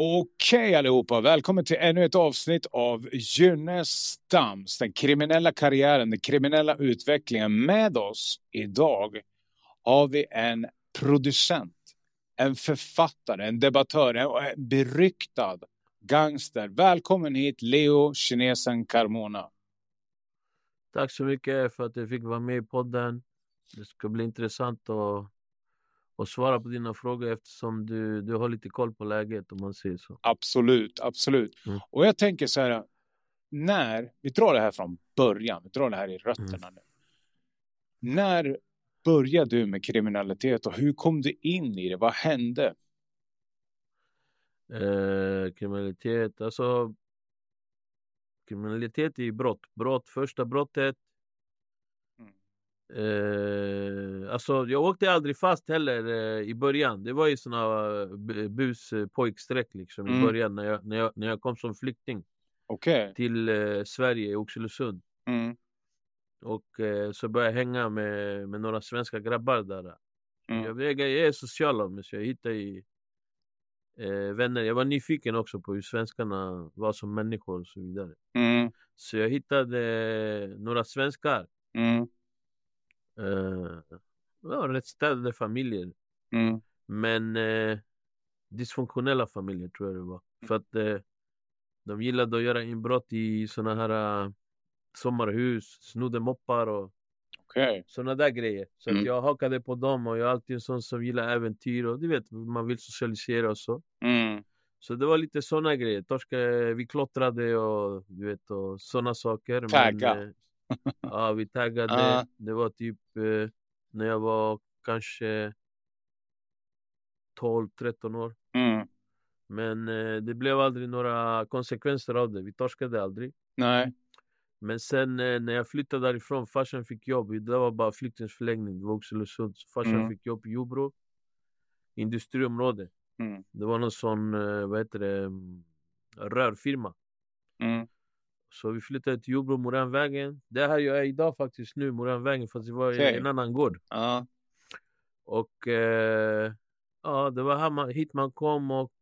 Okej allihopa, välkommen till ännu ett avsnitt av Gynestams, den kriminella karriären, den kriminella utvecklingen. Med oss idag har vi en producent, en författare, en debattör, en beryktad gangster. Välkommen hit Leo Kinesen Carmona. Tack så mycket för att jag fick vara med i podden. Det ska bli intressant att svara på dina frågor eftersom du har lite koll på läget om man säger så. Absolut. Och jag tänker så här, när vi drar det här från början, vi drar det här i rötterna nu. När började du med kriminalitet och hur kom du in i det? Vad hände? Kriminalitet är ju brott. Första brottet. Jag åkte aldrig fast heller i början. Det var ju såna buspojksträck liksom i början när jag kom som flykting till Sverige i Oxelösund. Och så började jag hänga med några svenska grabbar där. Jag är social av mig, så jag hittade vänner. Jag var nyfiken också på hur svenskarna var som människor och så vidare. Så jag hittade några svenskar. Rätt städade familjer. Men dysfunktionella familjer tror jag det var. För att de gillade att göra inbrott i såna här sommarhus, snodde moppar och såna där grejer. Så att jag hakade på dem, och jag är alltid en sån som gillar äventyr och du vet, man vill socialisera och så. Så det var lite såna grejer. Vi klottrade och du vet, och såna saker. Tagga. Ja, vi taggade. Det var typ när jag var kanske 12-13 år. Men det blev aldrig några konsekvenser av det. Vi torskade aldrig. Nej. Men sen när jag flyttade därifrån, farsan fick jobb. Det var bara flyktingsförläggning. Det var Oxelösund. Farsan fick jobb i Jobro. Industriområde. Det var någon sån, rörfirma. Så vi flyttade till Jobro, Moranvägen. Det här jag är idag faktiskt nu, Moranvägen, fast det var en annan gård. Och det var hit man kom, och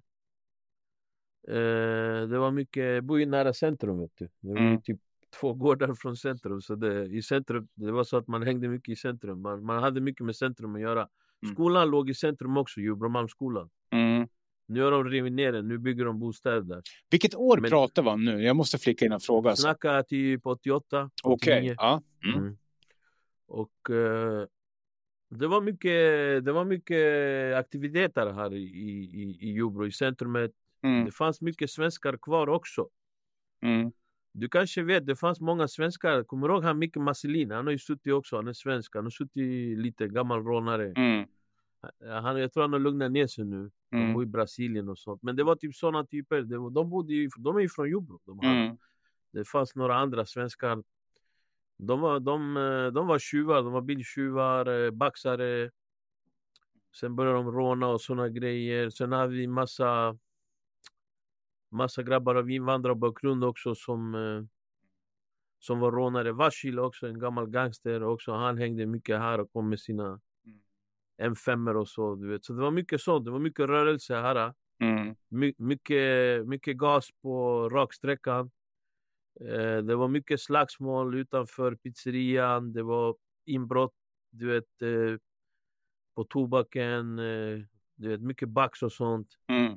det var mycket, bo i nära centrum, vet du. Det var typ 2 gårdar från centrum. Så i centrum, det var så att man hängde mycket i centrum. Man hade mycket med centrum att göra. Skolan låg i centrum också, Jobromalmsskolan. Nu har de rivit ner den, nu bygger de bostäder där. Vilket år pratar vi om nu? Jag måste flika in en fråga. Snacka typ 88, 89. Och det var mycket aktiviteter här i Jobro, i centrumet. Det fanns mycket svenskar kvar också. Du kanske vet, det fanns många svenskar. Kommer du ihåg han Micke Masselin? Han har ju suttit också, han är svensk. Han har suttit lite gammal rånare. Jag tror han har lugnat ner sig nu. De bor i Brasilien och sånt. Men det var typ sådana typer. De är ju från Jobro. Det fanns några andra svenskar. De var tjuvar. De var biltjuvar, baxare. Sen började de råna och såna grejer. Sen hade vi massa grabbar av invandrarbakgrund också som var rånare. Vasil också, en gammal gangster också. Han hängde mycket här och kom med sina M5 och så, du vet. Så det var mycket sånt. Det var mycket rörelse här. Mycket gas på raksträckan. Det var mycket slagsmål utanför pizzerian. Det var inbrott, du vet, på tobaken. Du vet, mycket bax och sånt.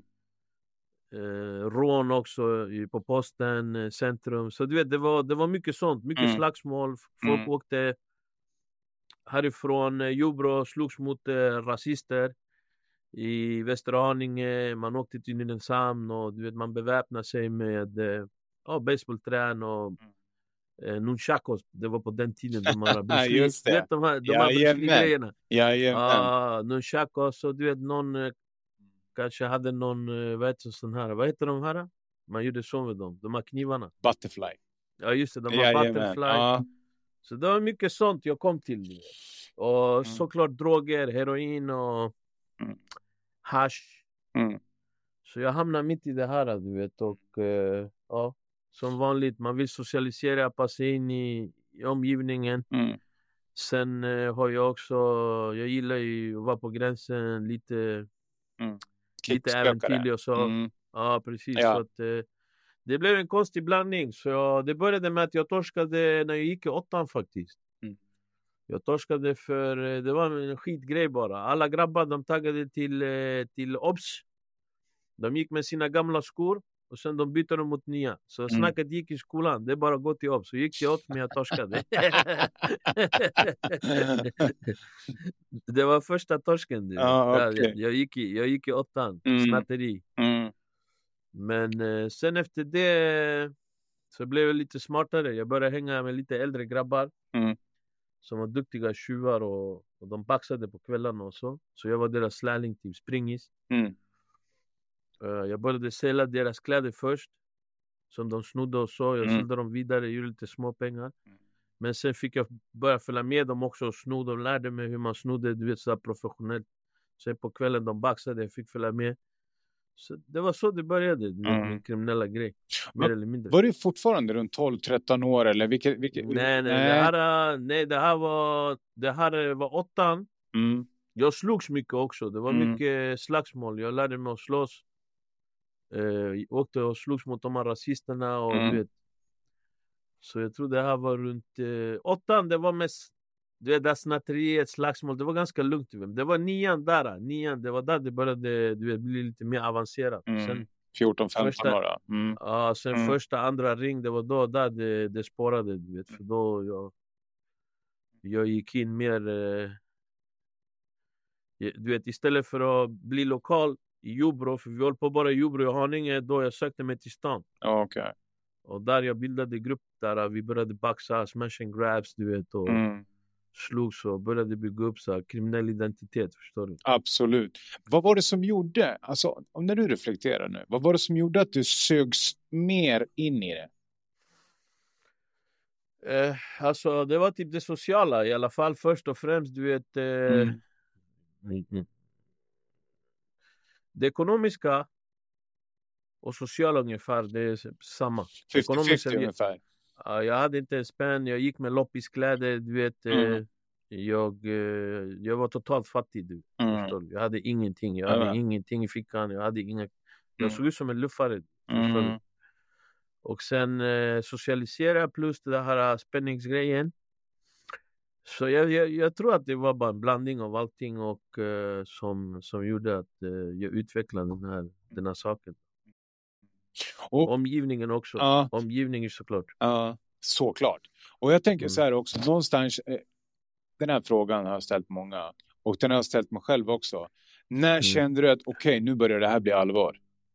Rån också på posten, centrum. Så du vet, det var mycket sånt. Mycket slagsmål. Folk åkte härifrån Jobro, slogs mot rasister i Västerhaninge. Man åkte till Nynäshamn och du vet, man beväpnade sig med baseballträn och nunchakos. Det var på den tiden de här just det. Du vet, de här grejerna. Nunchakos, och du vet, någon kanske hade någon, vad heter de här? Man gjorde så med dem, de här knivarna. Butterfly. Ja just det, de har Butterfly. Så det var mycket sånt jag kom till. Och såklart droger, heroin och hash. Så jag hamnade mitt i det här, du vet. Och som vanligt, man vill socialisera, passa in i omgivningen. Sen har jag också, jag gillar ju att vara på gränsen lite. lite äventyrlig och så. Ja, precis. Så att, det blev en konstig blandning. Så det började med att jag torskade när jag gick i 8 faktiskt. Jag torskade för, det var en skitgrej bara. Alla grabbar, de taggade till OBS. De gick med sina gamla skor. Och sen de bytte dem mot nya. Så snacket gick i skolan. Det är bara att gå till OBS. Så gick till OBS, men jag torskade. Det var första torsken. Okay. Jag gick i 8. Snatteri. Men sen efter det så blev jag lite smartare. Jag började hänga med lite äldre grabbar. Som var duktiga tjuvar. Och de baxade på kvällarna och så. Så jag var deras lärling, typ springis. Jag började sälja deras kläder först. Som de snodde och så. Jag sålde dem vidare, gjorde lite små pengar. Men sen fick jag börja följa med dem också och sno. De lärde mig hur man snodde, du vet, så professionellt. Sen på kvällen de baxade, jag fick följa med. Så det var så det började, du vet, min kriminella grej. Mer eller mindre. Var du fortfarande runt 12-13 år eller vilket? Nej. Det här var 8. Jag slogs mycket också. Det var mycket slagsmål. Jag lärde mig att slåss. Åkte och slogs mot de här rasisterna och du vet. Så jag tror det här var runt 8. Det var mest, du vet, där snatteriet, slagsmål. Det var ganska lugnt. Det var 9 där. Det var där det började, du vet, bli lite mer avancerat. Sen 14-15 år. Ja, sen första, andra ring, det var då där det spårade, du vet. För då jag gick in mer, du vet, istället för att bli lokal i Jobro, för vi håller på bara i Jobro och Haninge, då jag sökte mig till stan. Okay. Och där jag bildade grupp där vi började baxa, smash and grabs, du vet, och slogs och började bygga upp så här, kriminell identitet, förstår du? Absolut. Vad var det som gjorde, alltså när du reflekterar nu, vad var det som gjorde att du sögs mer in i det? Alltså det var typ det sociala i alla fall, först och främst, du vet, det ekonomiska och sociala ungefär, det är samma. 50-50 ungefär. Jag hade inte en spänn, jag gick med loppiskläder, du vet. Jag var totalt fattig, du förstår. Jag hade ingenting, jag hade ingenting i fickan, jag såg ut som en luffare, förstår. Och sen socialisera plus det här spänningsgrejen. Så jag tror att det var bara en blandning av allting och som gjorde att jag utvecklade den här saken. Och omgivningen också. Omgivningen såklart. Såklart. Och jag tänker så här också, någonstans, den här frågan har jag ställt många. Och den har jag ställt mig själv också. När kände du att okej, nu börjar det här bli allvar?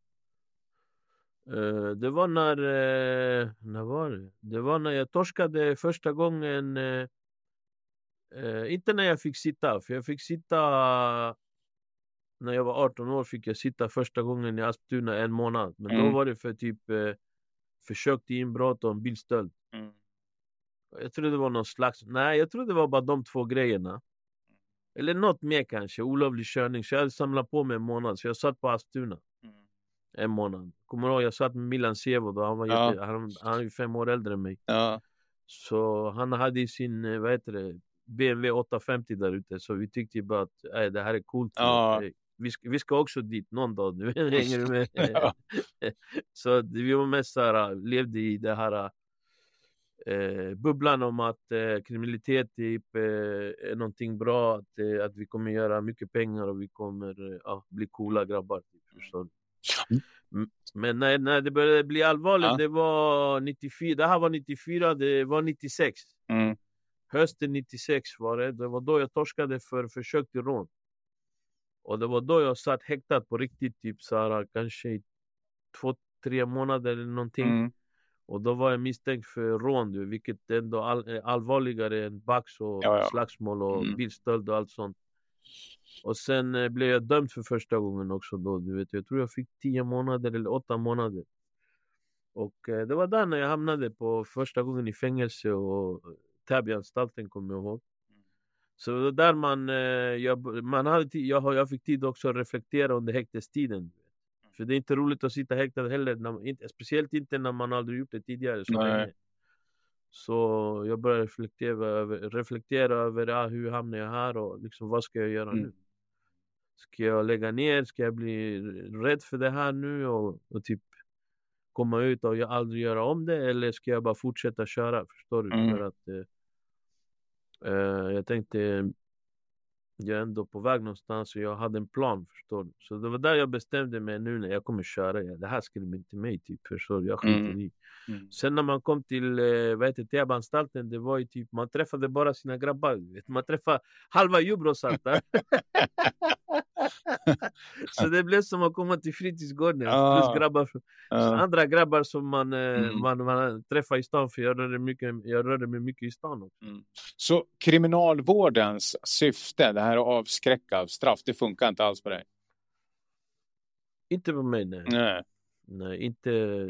Det var när var det? Det var när jag torskade första gången. Inte när jag fick sitta, för jag fick sitta när jag var 18 år, fick jag sitta första gången i Asptuna 1 månad. Men då var det för typ försök till inbrott och en bilstöld. Jag tror det var någon slags, nej, jag tror det var bara de 2 grejerna. Eller något mer kanske, olovlig körning. Så jag hade samlat på mig 1 månad, så jag satt på Asptuna 1 månad. Kommer du ihåg, jag satt med Milan Sevo då, han är ju 5 år äldre än mig. Så han hade sin, BMW 850 där ute, så vi tyckte bara att det här är coolt. Vi ska också dit någon dag nu. Hänger du med? Så vi var mest så här, levde i det här bubblan om att kriminalitet typ, är någonting bra, att vi kommer göra mycket pengar och vi kommer bli coola grabbar. Förstår. Men när det började bli allvarligt, det var 94. Det här var 94, det var 96. Hösten 96 var det. Det var då jag torskade för försök till rån. Och det var då jag satt häktad på riktigt, typ så här, kanske 2-3 månader eller någonting. Och då var jag misstänkt för rån, vilket ändå är allvarligare än bax och slagsmål och bilstöld och allt sånt. Och sen blev jag dömd för första gången också då, du vet. Jag tror jag fick 10 månader eller 8 månader. Och det var där när jag hamnade på första gången i fängelse och Täbyanstalten, kommer jag ihåg. Så där jag fick tid också att reflektera under häktestiden. För det är inte roligt att sitta häktad heller, speciellt inte när man aldrig gjort det tidigare så länge. Så jag började reflektera över hur hamnar jag här och liksom, vad ska jag göra nu? Ska jag lägga ner? Ska jag bli rädd för det här nu och typ komma ut och jag aldrig göra om det? Eller ska jag bara fortsätta köra? Förstår du? För att jag tänkte, jag är ändå på väg någonstans och jag hade en plan, förstår du? Så det var där jag bestämde mig nu när jag kommer köra. Det här skulle bli inte mig, typ, förstår du? Jag skiter i. Sen när man kom till Täbyanstalten, det var ju typ, man träffade bara sina grabbar, vet. Man träffade halva Jubro satt där. Så det blev som att komma till fritidsgården, plus grabbar, andra grabbar som man träffar i stan, för jag rörde mig mycket i stan också. Så kriminalvårdens syfte, det här att avskräcka straff, det funkar inte alls på dig? Inte på mig, nej. Nej, inte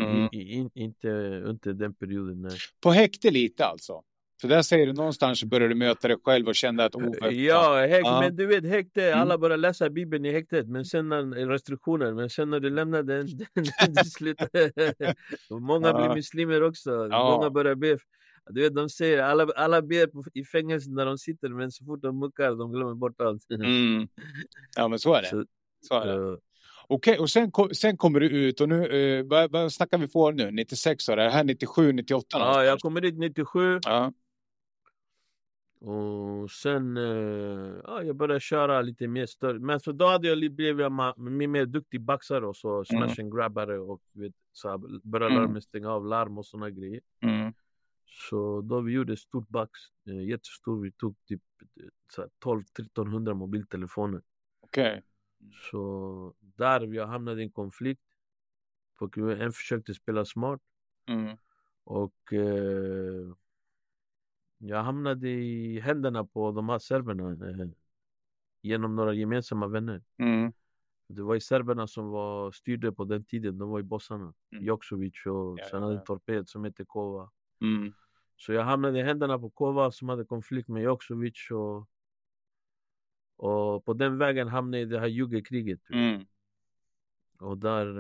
under den perioden, nej. På häkte lite alltså? För där säger du någonstans så började du möta dig själv och kände att men du vet, häkte, alla börjar läsa Bibeln i häktet, men sen när restriktioner, men sen när du lämnar den slutar. Många blir muslimer också, många börjar be. Du vet, de säger, alla ber i fängelsen när de sitter, men så fort de muckar, de glömmer bort allt. Ja, men så är det. Så är det. Okej, och sen kommer du ut och nu, vad snackar vi på nu? 96 år, är det här 97, 98? Ja, jag kommer dit 97. Ja. Och sen, jag började köra lite mer större. Men så då hade jag blivit mer duktig baxare och så smash and grabbare och vet, så började lära mig stänga av larm och såna grejer. Så då vi gjorde stort bax, jättestor, vi tog typ 1200-1300 mobiltelefoner. Okej. Så där vi hamnade i en konflikt. En försökte spela smart. Och jag hamnade i händerna på de här serberna genom några gemensamma vänner. Det var ju serberna som styrde på den tiden. De var ju bossarna. Joksovic och sen hade en torped som hette Kova. Så jag hamnade i händerna på Kova som hade konflikt med Joksovic. Och på den vägen hamnade jag i det här juggekriget. Och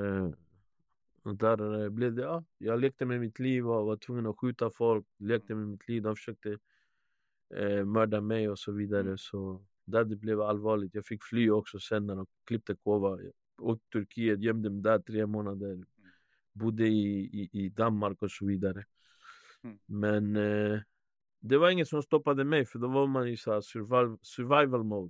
där blev det, jag lekte med mitt liv och var tvungen att skjuta folk. Lekte med mitt liv, de försökte mörda mig och så vidare. Så där det blev allvarligt. Jag fick fly också sen när de klippte Kova. Och Turkiet, gömde mig där 3 månader. Bodde i Danmark och så vidare. Men det var inget som stoppade mig, för då var man i så här survival mode.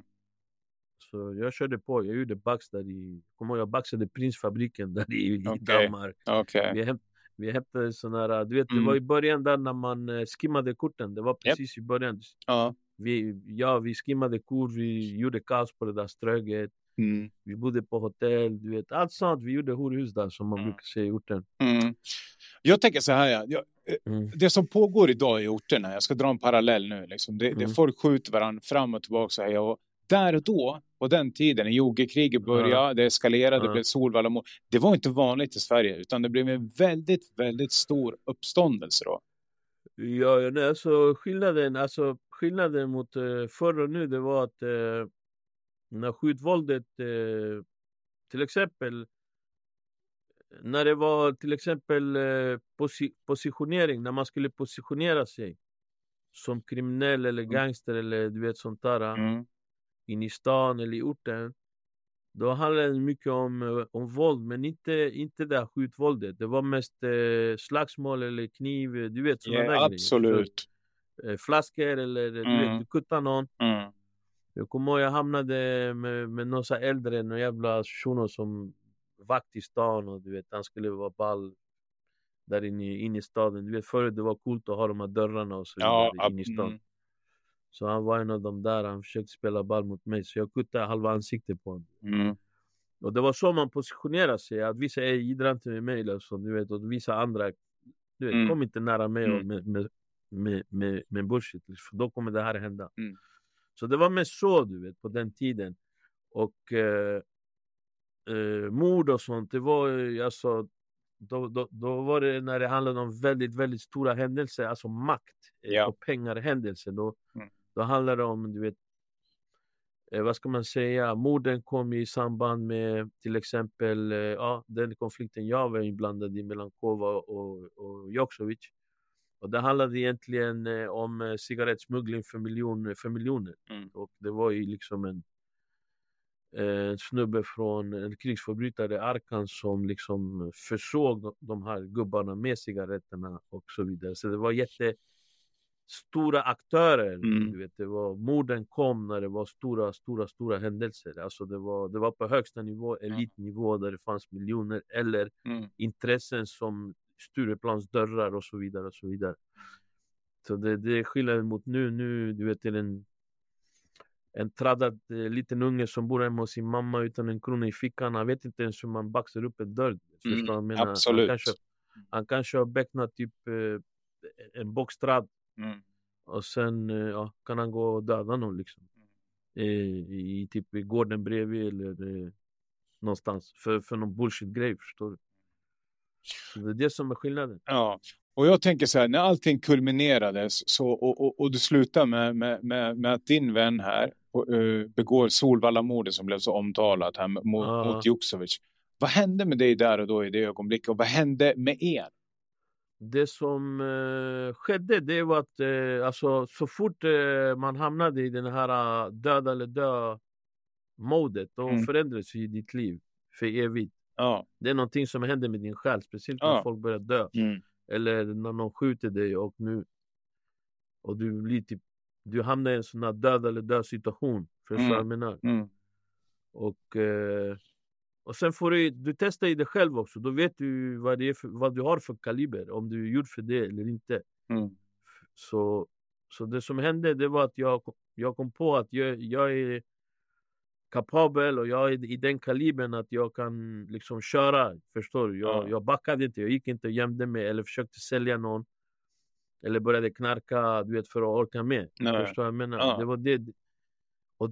Så jag körde på, jag gjorde bax där jag baxade Prinsfabriken där i Danmark. Vi hämtade såna här, du vet, det var i början där när man skimmade korten, det var precis i början. Vi skimmade kort, vi gjorde kaos på det där ströget. Vi bodde på hotell, du vet, allt sånt. Vi gjorde horhus där, som man brukar säga i orten. Jag tänker så här, det som pågår idag i orterna, jag ska dra en parallell nu liksom. Det folk skjuter varandra fram och tillbaka så här, och där och då, på den tiden, när juggekriget började, det eskalerade, det blev Solvalla. Det var inte vanligt i Sverige, utan det blev en väldigt, väldigt stor uppståndelse då. Ja, alltså skillnaden mot förr och nu, det var att när skjutvåldet, till exempel, när det var till exempel positionering, när man skulle positionera sig som kriminell eller gangster eller du vet sånt där, in i stan eller i orten, då handlade det mycket om våld, men inte det skjutvåldet. Det var mest slagsmål eller kniv, du vet sådana där absolut. grejer. Flaskor eller du vet, du kuttar någon. Jag kommer ihåg, jag hamnade med någon så äldre, någon jävla shuno som vakt i stan, och du vet, han skulle vara ball där inne i staden. Du vet, förut det var coolt att ha de här dörrarna och så vidare inne i stan. Så han var en av dem där, han försökte spela ball mot mig, så jag kuttade halva ansiktet på honom. Och det var så man positionerade sig, att vissa är gidrar inte med mig eller så, du vet, och vissa andra, du vet, kom inte nära mig och med bullshit, för då kommer det här hända. Så det var med så, du vet, på den tiden. Och mord och sånt, det var alltså, då var det när det handlade om väldigt, väldigt stora händelser, alltså makt och pengarhändelser. Då handlade det om, du vet, vad ska man säga, morden kom i samband med till exempel den konflikten jag var inblandad i mellan Kova och Joksovic. Och det handlade egentligen om cigarettsmuggling för miljoner. Och det var ju liksom en snubbe från en krigsförbrytare Arkan som liksom försåg de här gubbarna med cigaretterna och så vidare. Så det var jättestora aktörer. Du vet, det var, morden kom när det var stora händelser. Alltså det var på högsta nivå, elitnivå, där det fanns miljoner eller intressen som Stureplans dörrar och så vidare och så vidare. Så det är skillnaden mot nu du vet, är en traddad liten unge som bor hemma hos sin mamma utan en krona i fickan. Han vet inte ens hur man baxar upp en dörr. Absolut. Han kanske har becknat typ en boxtrad. Och sen kan han gå och döda någon liksom. I typ i gården bredvid eller någonstans. För någon bullshit-grej, förstår du? Så det är det som är skillnaden. Ja. Och jag tänker så här, när allting kulminerades så, och du slutar med att din vän här begår Solvalla-mordet som blev så omtalat här mot Juksovic. Vad hände med dig där och då i det ögonblicket? Och vad hände med er? Det som skedde, det var att alltså, så fort man hamnade i den här döda eller dö-modet, då förändrades ju ditt liv för evigt. Ja. Det är någonting som händer med din själ, speciellt när folk börjar dö. Eller när någon skjuter dig och du blir typ, du hamnar i en sån här död eller dö situation. Förstår jag menar? Och sen får du testa i dig själv också. Då vet du vad du har för kaliber, om du är gjord för det eller inte. Så det som hände, det var att jag kom på att jag är kapabel och jag är i den kalibern att jag kan liksom köra, förstår du? Jag backade inte, jag gick inte och gömde mig eller försökte sälja någon eller började knarka, du vet, för att orka med. Förstår jag menar? Det var det. Och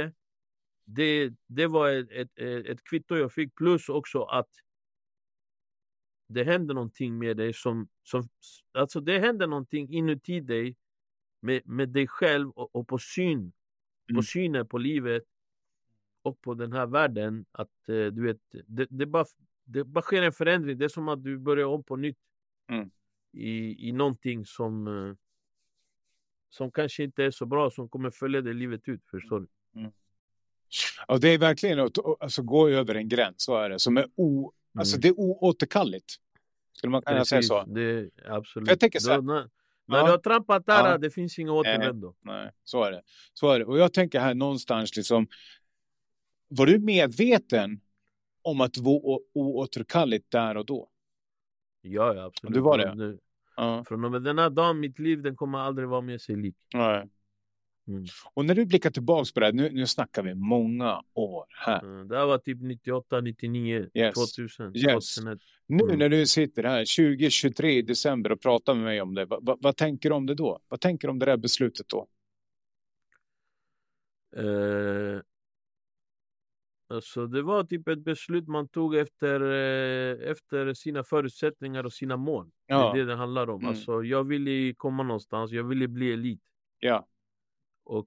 det var ett kvitto jag fick, plus också att det hände någonting med dig alltså det hände någonting inuti dig med dig själv och på synen på livet och på den här världen, att du vet, det bara sker en förändring. Det är som att du börjar om på nytt i någonting som kanske inte är så bra, som kommer följa dig livet ut, förstår du? Ja, det är verkligen att gå över en gräns, så är det, som är alltså det är oåterkalligt. Skulle man kunna säga så? Det, absolut. Jag tänker så här, när du har trampat där, det finns inga återvändo. Nej, så är det. Och jag tänker här någonstans liksom, var du medveten om att det var oåterkalligt där och då? Ja, absolut. Du var det? Från och med den här dagen, mitt liv, den kommer aldrig vara med sig lik. Nej. Och när du blickar tillbaka på det här, nu snackar vi många år här. Det här var typ 98, 99, 2000. Yes. 2001. Nu när du sitter här 2023 i december och pratar med mig om det, vad tänker du om det då? Vad tänker du om det där beslutet då? Alltså det var typ ett beslut man tog efter sina förutsättningar och sina mål. Ja. Det är det handlar om. Alltså jag ville komma någonstans, jag ville bli elit. Ja. Och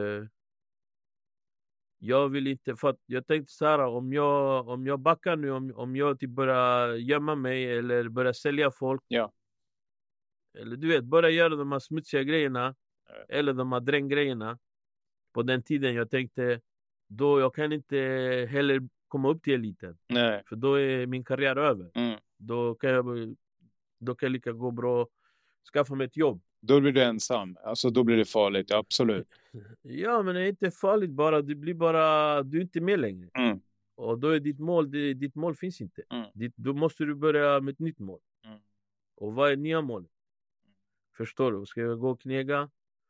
jag vill inte, för att jag tänkte så här, om jag backar nu, om jag typ börjar gömma mig eller börjar sälja folk, eller du vet, börja göra de här smutsiga grejerna eller de här dränggrejerna på den tiden, jag tänkte då jag kan inte heller komma upp till eliten. Nej. För då är min karriär över. Då kan jag lika gå bra skaffa mig ett jobb. Då blir du ensam. Alltså då blir det farligt, absolut. Ja, men det är inte farligt bara. Du är inte med längre. Och då är ditt mål finns inte. Då måste du börja med ett nytt mål. Och vad är nya mål? Förstår du? Ska jag gå och knega?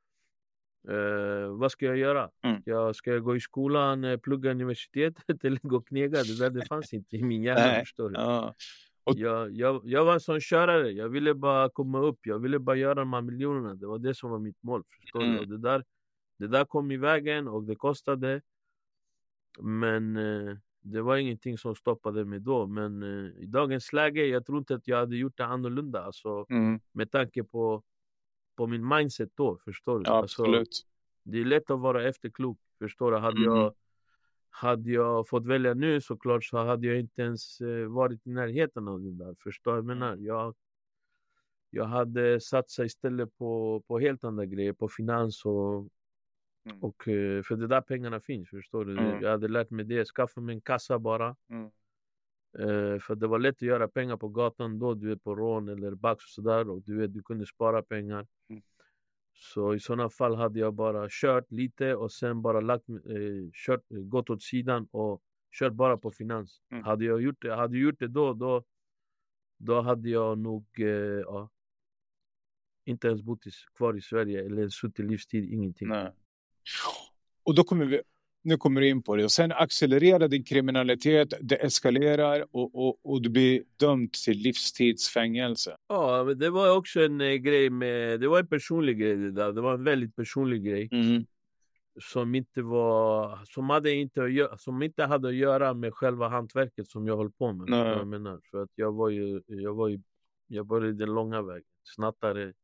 Vad ska jag göra? Ska jag gå i skolan, plugga universitetet eller gå och knega? Det fanns inte i min hjärna, förstår du? Och jag var en sån körare. Jag ville bara komma upp. Jag ville bara göra de här miljonerna. Det var det som var mitt mål, förstår du? Och det där kom i vägen och det kostade. Men det var ingenting som stoppade mig då. Men i dagens läge, jag tror inte att jag hade gjort det annorlunda. Alltså, med tanke på min mindset då, förstår du? Ja, absolut. Alltså, det är lätt att vara efterklok, förstår du? Hade jag fått välja nu, såklart, så hade jag inte ens varit i närheten av det där. Förstår jag menar? Jag hade satsat istället på helt andra grejer, på finans Och för det där pengarna finns, förstår du? Jag hade lärt mig det, skaffa mig en kassa bara. För det var lätt att göra pengar på gatan då, du är på rån eller bax och sådär, och du kunde spara pengar. Så i sådana fall hade jag bara kört lite och sen bara gått åt sidan och kört bara på finans. Hade jag gjort det då hade jag nog inte ens bott kvar i Sverige eller suttit livstid, ingenting. Nej. Och då nu kommer du in på det. Och sen accelererar din kriminalitet, det eskalerar och du blir dömd till livstidsfängelse. Ja, men det var också en grej det var en personlig grej det där. Det var en väldigt personlig grej. Som inte hade att göra med själva hantverket som jag höll på med. Jag menar, för att jag var i den långa vägen. Snattare.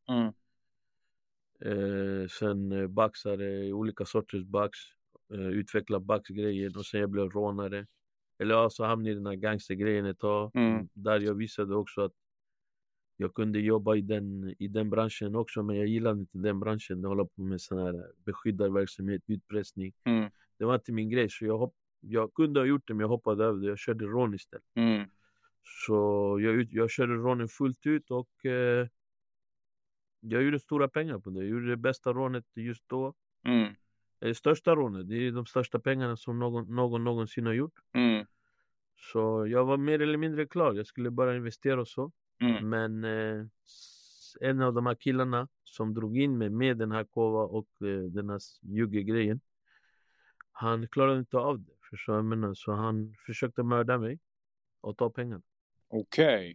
Sen baxare, olika sorters bax. Utveckla baxgrejer och sen jag blev rånare. Eller så hamnade i den här gangstergrejen ett tag. Där jag visade också att jag kunde jobba i den branschen också, men jag gillade inte den branschen. Jag håller på med sån här beskyddarverksamhet, utpressning. Det var inte min grej, så jag kunde ha gjort det, men jag hoppade över det. Jag körde rån istället. Så jag körde rånen fullt ut och jag gjorde stora pengar på det. Jag gjorde det bästa rånet just då. Det största rånet, det är de största pengarna som någon någonsin har gjort. Så jag var mer eller mindre klar. Jag skulle bara investera och så. Men en av de här killarna som drog in mig med den här kova och den här juggegrejen, han klarade inte av det. Så han försökte mörda mig och ta pengarna. Okej.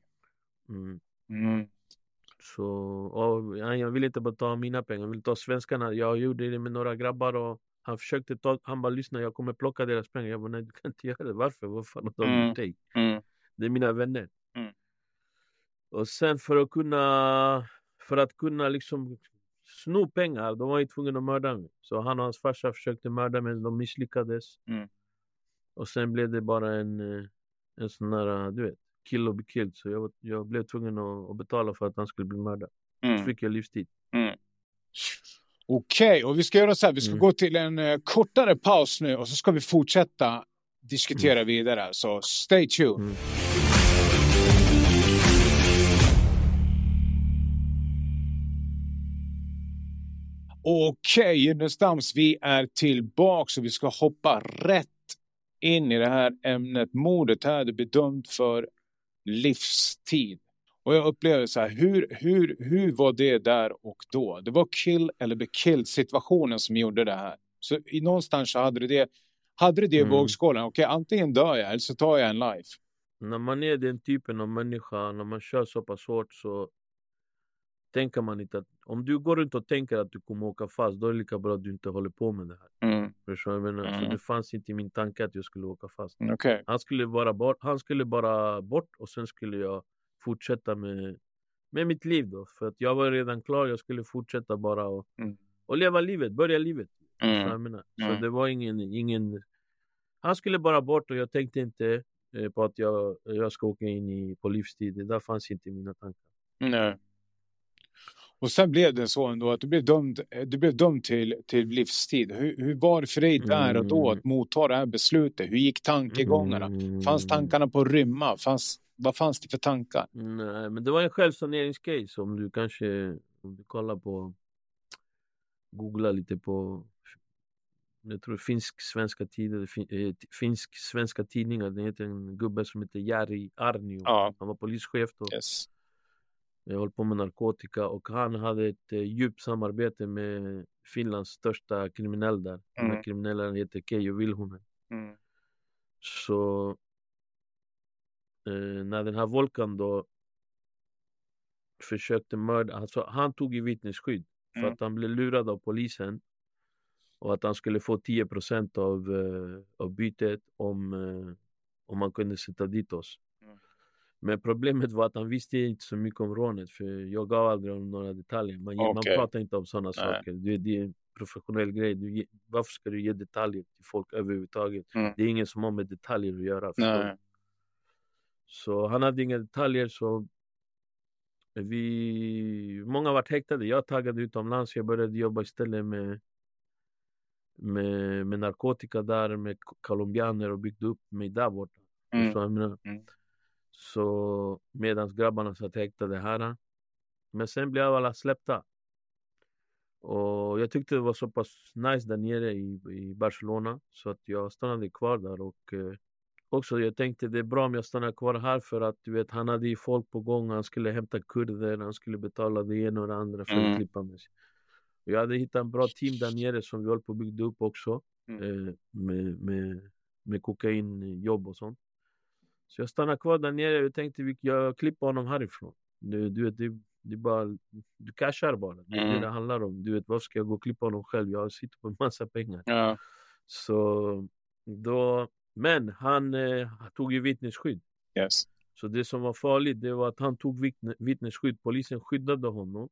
Så jag ville inte bara ta mina pengar, jag ville ta svenskarna. Jag gjorde det med några grabbar och han bara lyssna, jag kommer plocka deras pengar. Jag bara, nej, du kan inte göra det. Varför? Vad fan har de gjort dig? Det är mina vänner. Och sen för att kunna liksom sno pengar, de var ju tvungna att mörda mig. Så han och hans farsa försökte mörda mig, de misslyckades. Och sen blev det bara en sån här, du vet, kill och be killed. Så jag blev tvungen att betala för att han skulle bli mördad. Så fick jag livstid. Okej, och vi ska göra så här. Vi ska gå till en kortare paus nu och så ska vi fortsätta diskutera vidare. Så stay tuned. Okej, Gynnestams, vi är tillbaka och vi ska hoppa rätt in i det här ämnet. Mordet här, du blir dömd för livstid. Och jag upplever så här, hur var det där och då? Det var kill eller be killed situationen som gjorde det här. Så någonstans så hade det i vågskålen. Okej, antingen dör jag eller så tar jag en life. När man är den typen av människa, när man kör så pass hårt, så tänker man inte att om du går runt och tänker att du kommer åka fast, då är det lika bra att du inte håller på med det här. Så det fanns inte i min tanke att jag skulle åka fast. Han skulle bara bort och sen skulle jag fortsätta med mitt liv då. För att jag var redan klar, jag skulle fortsätta bara och leva livet, börja livet. Så det var ingen. Han skulle bara bort och jag tänkte inte på att jag ska åka in på livstid. Det där fanns inte i mina tankar. Nej. Och sen blev det så ändå att du blev dömd till livstid. Hur var det för dig där och då att motta det här beslutet? Hur gick tankegångarna? Fanns tankarna på att rymma? Vad fanns det för tankar? Nej, men det var en självsaneringscase. Om du kollar på, googla lite på, jag tror finsk-svenska tidningar. Det heter en gubbe som heter Jari Arnio. Ja. Han var polischef då. Yes. Jag höll på med narkotika och han hade ett djupt samarbete med Finlands största kriminell där. Den här kriminellen heter Keijo Vilhunen. Så när den här Volkan då försökte mörda, alltså han tog i vittnesskydd för att han blev lurad av polisen och att han skulle få 10% av bytet om man kunde sätta dit oss. Men problemet var att han visste inte så mycket om rånet, för jag gav aldrig om några detaljer. Man pratar inte om sådana saker. Det är en professionell grej. Varför ska du ge detaljer till folk överhuvudtaget? Det är ingen som har med detaljer att göra. Så han hade inga detaljer, så många var häktade. Jag taggade utomlands. Jag började jobba istället med med narkotika där, med colombianer och byggde upp mig där borta. Så medans grabbarna satt häktade här. Men sen blev alla släppta. Och jag tyckte det var så pass nice där nere i Barcelona, så att jag stannade kvar där. Och också jag tänkte det är bra om jag stannar kvar här, för att du vet, han hade ju folk på gång. Han skulle hämta kurder, han skulle betala det ena och det andra för att klippa med sig. Jag hade hittat en bra team där nere som vi höll på att bygga upp också. Med kokainjobb och sånt. Så jag stannade kvar där nere och tänkte jag klipper honom härifrån. Du vet, det är bara, du cashar bara. Det är det handlar om. Du vet, vad ska jag gå och klippa honom själv? Jag sitter på en massa pengar. Ja. Så då, men han tog ju vittnesskydd. Yes. Så det som var farligt, det var att han tog vittnesskydd. Polisen skyddade honom.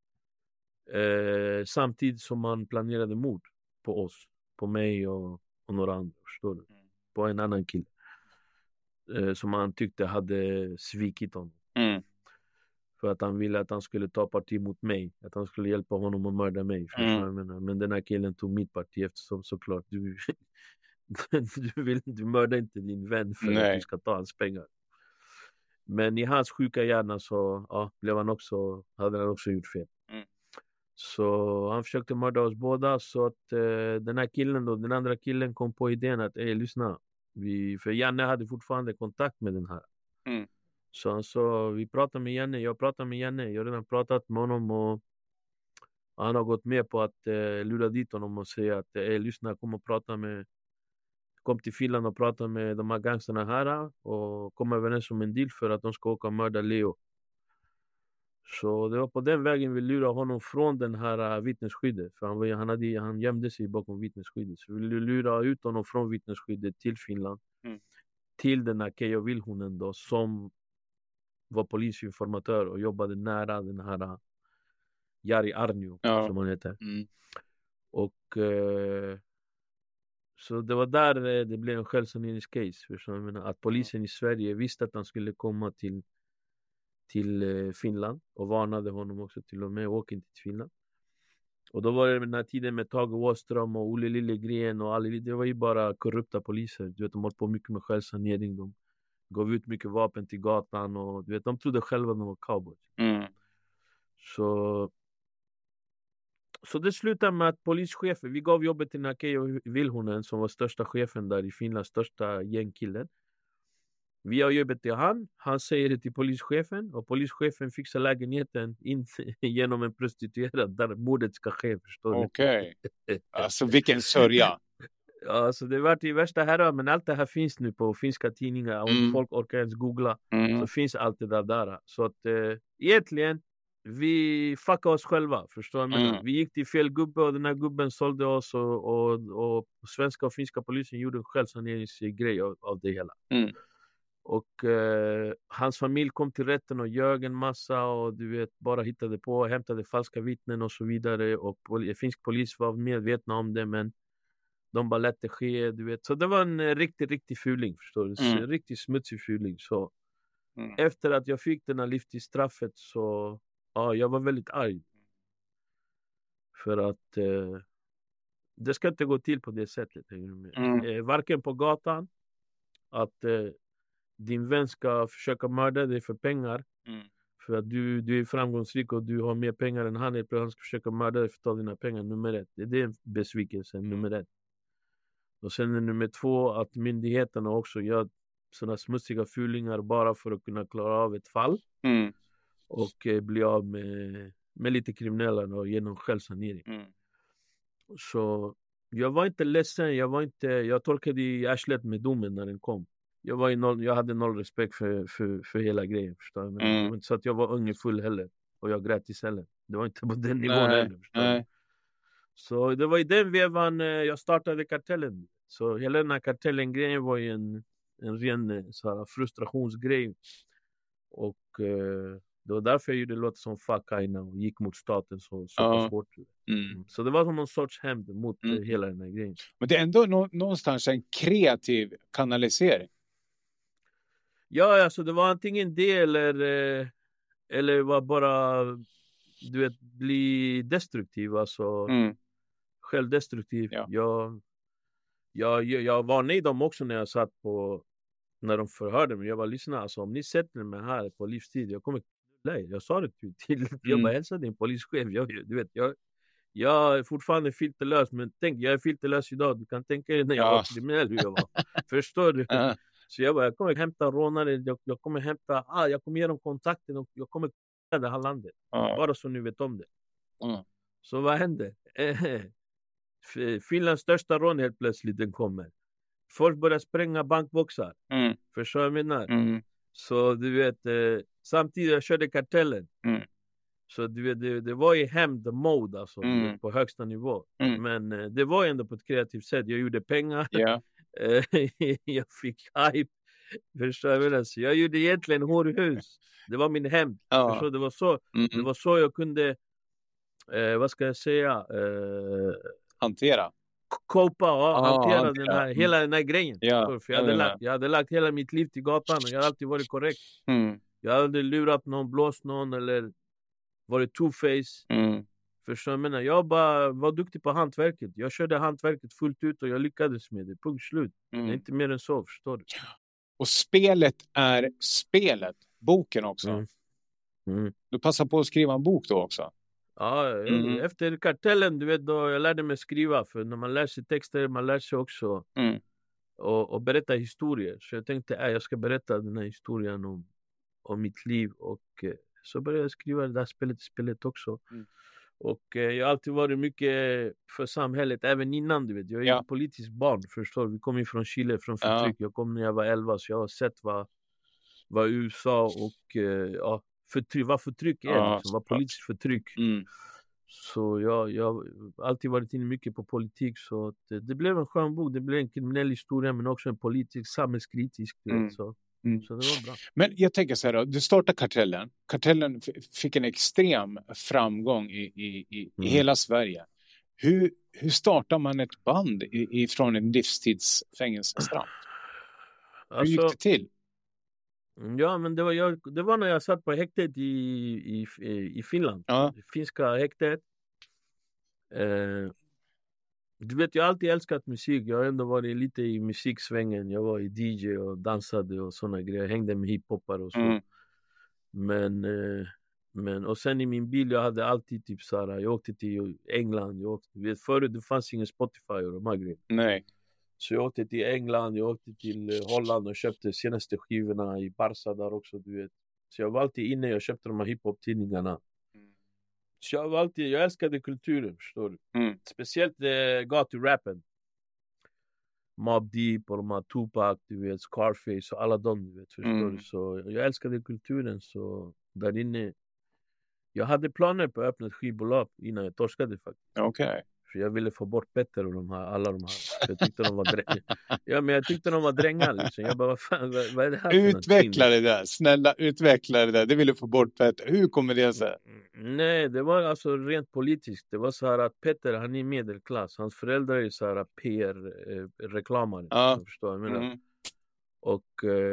Samtidigt som man planerade mord på oss. På mig och några andra, förstår du? På en annan kille. Som han tyckte hade svikit honom. För att han ville att han skulle ta parti mot mig. Att han skulle hjälpa honom att mörda mig. Men den här killen tog mitt parti, eftersom såklart du mördar inte din vän för att du ska ta hans pengar. Men i hans sjuka hjärna så hade han också gjort fel. Så han försökte mörda oss båda. Så att den här killen då, den andra killen kom på idén att lyssna. För Janne hade fortfarande kontakt med den här. Så han sa, vi pratar med Janne. Jag pratar med Janne. Jag har redan pratat med honom. Och han har gått med på att lura dit honom och säga att lyssna, kom till Finland och prata med de här gangsterna här. Och kom överens om en deal för att de ska åka och mörda Leo. Så det var på den vägen vi lurade honom från den här vittnesskyddet. För han gömde sig bakom vittnesskyddet. Så vi lurade ut honom från vittnesskyddet till Finland. Till den här Keyyo Vilhunen då, som var polisinformatör och jobbade nära den här Jari Arnio, som han heter. Och så det var där det blev en självsaneringscase. Jag menar, att polisen i Sverige visste att han skulle komma till Finland och varnade honom också till och med, åk inte till Finland. Och då var det den här tiden med Tage Åström och Olle Liljegren och det var ju bara korrupta poliser. Du vet, de hållit på mycket med självsanering. De gav ut mycket vapen till gatan och du vet, de trodde själva de var cowboys. Så det slutade med att polischefen, vi gav jobbet till Keyyo Vilhunen som var största chefen där i Finland, största gängkillen. Vi har jobbet till han säger det till polischefen och polischefen fixar lägenheten in genom en prostituerad där mordet ska ske, förstår du? Okej. Alltså vilken sörja. Ja, så det var i värsta här, men allt det här finns nu på finska tidningar. Om folk orkar ens googla så finns allt det där. Så att egentligen vi fuckade oss själva, förstår du? Vi gick till fel gubbe och den här gubben sålde oss och svenska och finska polisen gjorde en självsaneringsgrej av det hela. Och hans familj kom till rätten och ljög en massa och du vet, bara hittade på, hämtade falska vittnen och så vidare. Och finsk polis var medvetna om det, men de bara lät det ske, du vet. Så det var en riktig fuling, förstår du? En riktigt smutsig fuling. Så efter att jag fick den här livstidsstraffet så jag var väldigt arg. För att det ska inte gå till på det sättet. Varken på gatan att din vän ska försöka mörda dig för pengar. För att du är framgångsrik och du har mer pengar än han. Han ska försöka mörda dig för att ta dina pengar, nummer 1. Det är besvikelsen, nummer 1. Och sen nummer 2, att myndigheterna också gör sådana smutsiga fulingar bara för att kunna klara av ett fall. Och bli av med lite kriminella och genom självsanering. Så jag var inte ledsen. Jag torkade i arslet med domen när den kom. Jag hade noll respekt för hela grejen, förstår du? Men så att jag var ung full heller. Och jag grät i cellen. Det var inte på den nivån heller, förstår du? Så det var i den vevan jag startade kartellen. Så hela den här kartellen-grejen var ju en ren så här, frustrationsgrej. Och det var därför jag gjorde låt som Fuck Aina och gick mot staten så pass hårt. Så det var som någon sorts hämnd mot hela den här grejen. Men det är ändå någonstans en kreativ kanalisering. Ja, alltså det var antingen det eller var bara, du vet, bli destruktiv. Alltså självdestruktiv. Jag varnade dem också när jag satt på, när de förhörde mig. Jag var lyssna, alltså om ni sätter mig här på livstid, jag kommer nej, jag sa det till jag bara hälsade din polischef. Jag är fortfarande filterlös, men tänk, jag är filterlös idag. Du kan tänka dig när jag var kriminell hur jag var. Förstår du? Så jag kommer hämta rånare, jag kommer hämta, jag kommer ge dem kontakten och jag kommer det här landet. Bara så ni vet om det. Så vad hände? Finlands största rån helt plötsligt den kommer. Folk börjar spränga bankboxar. Förstår jag menar? Så du vet, samtidigt jag körde kartellen. Så du vet, det var i hämnd-mode alltså, på högsta nivå. Men det var ändå på ett kreativt sätt. Jag gjorde pengar. Jag fick hype. Förstår jag menar? Så jag gjorde egentligen horhus. Det var min hämnd. Det var så jag kunde, vad ska jag säga? Hantera. Hantera den här, hela den här grejen. För jag hade lagt hela mitt liv till gatan och jag har alltid varit korrekt. Jag hade aldrig lurat någon, blåst någon eller varit two-face. Förstår jag menar? Jag bara var duktig på hantverket. Jag körde hantverket fullt ut och jag lyckades med det. Punkt slut. Det är inte mer än så, förstår du? Och spelet är spelet. Boken också. Du passar på att skriva en bok då också? Ja, efter kartellen, du vet, då jag lärde mig skriva. För när man lär sig texter, man lär sig också och berätta historier. Så jag tänkte, jag ska berätta den här historien om mitt liv. Och så började jag skriva det där spelet också. Och jag har alltid varit mycket för samhället, även innan, du vet. Jag är ett politiskt barn, förstår du? Vi kom ju från Chile, från förtryck. Jag kom när jag var 11, så jag har sett vad USA och vad förtryck är, liksom, vad politiskt förtryck. Så jag har alltid varit inne mycket på politik, så att det blev en skön bok. Det blev en kriminell historia, men också en politisk, samhällskritisk, du vet, så det var bra. Men jag tänker så här då, du startade kartellen. Kartellen fick en extrem framgång i hela Sverige. Hur startar man ett band ifrån en livstidsfängelsestraff? Hur gick det till? Ja, men det var när jag satt på häktet i Finland. Det finska häktet. Du vet, jag har alltid älskat musik. Jag har ändå varit lite i musiksvängen. Jag var i DJ och dansade och såna grejer. Jag hängde med hiphoppare och så. Men och sen i min bil, jag hade alltid typ såhär, jag åkte till England. Förut det fanns ingen Spotify och de här grejerna. Nej. Så jag åkte till England, jag åkte till Holland och köpte senaste skivorna i Barca där också, du vet. Så jag var alltid inne, jag köpte de här hiphop-tidningarna. Så jag älskade kulturen, förstår du. Speciellt gaturappen. Mobb Deep och de här Tupac, du vet, Scarface och alla de, du vet, förstår du. Så jag älskade kulturen, så där inne. Jag hade planer på att öppna ett skivbolag innan jag torskade faktiskt. Okej. För jag ville få bort Petter och alla de här. Jag tyckte de var jag tyckte de var drängar liksom. Jag bara, vad är det här? Utveckla det där, snälla, utveckla det där. Det ville få bort Petter. Hur kommer det sig? Nej, det var alltså rent politiskt. Det var så här att Petter, han är medelklass. Hans föräldrar är så här PR-reklamare. Förstår jag menar. Och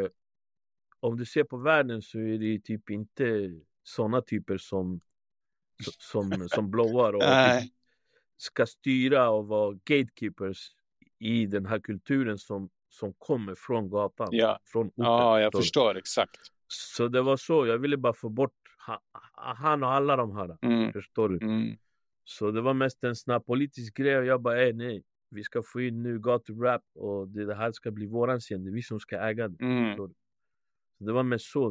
om du ser på världen så är det typ inte såna typer som blåar och typ ska styra och vara gatekeepers i den här kulturen som kommer från gatan, från orten. Ja, jag förstår exakt. Så det var så, jag ville bara få bort han och alla de här, förstår du? Så det var mest en snabb politisk grej och jag bara, nej, vi ska få in nu gaturap och det här ska bli våran scen, det är vi som ska äga det, förstår du? Så det var mest så.